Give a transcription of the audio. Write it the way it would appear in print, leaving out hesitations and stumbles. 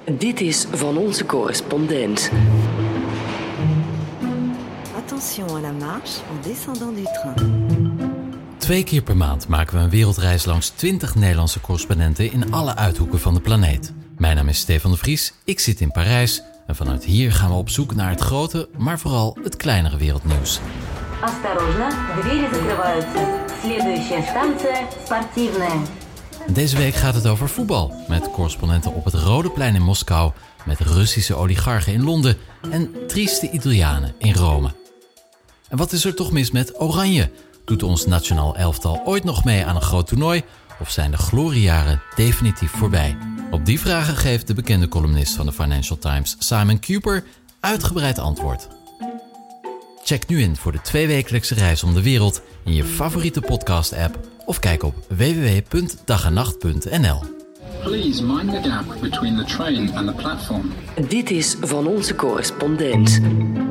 Dit is van onze correspondent. Attention à la marche en descendant du train. 2 keer per maand maken we een wereldreis langs 20 Nederlandse correspondenten in alle uithoeken van de planeet. Mijn naam is Stefan de Vries, ik zit in Parijs en vanuit hier gaan we op zoek naar het grote, maar vooral het kleinere wereldnieuws. Осторожно, двери закрываются. Следующая станция спортивная. Deze week gaat het over voetbal, met correspondenten op het Rode Plein in Moskou, met Russische oligarchen in Londen en trieste Italianen in Rome. En wat is er toch mis met Oranje? Doet ons nationaal elftal ooit nog mee aan een groot toernooi? Of zijn de gloriejaren definitief voorbij? Op die vragen geeft de bekende columnist van de Financial Times, Simon Kuper, uitgebreid antwoord. Check nu in voor de 2-wekelijkse reis om de wereld in je favoriete podcast-app of kijk op www.dagennacht.nl. Please mind the gap between the train and the platform. Dit is van onze correspondent.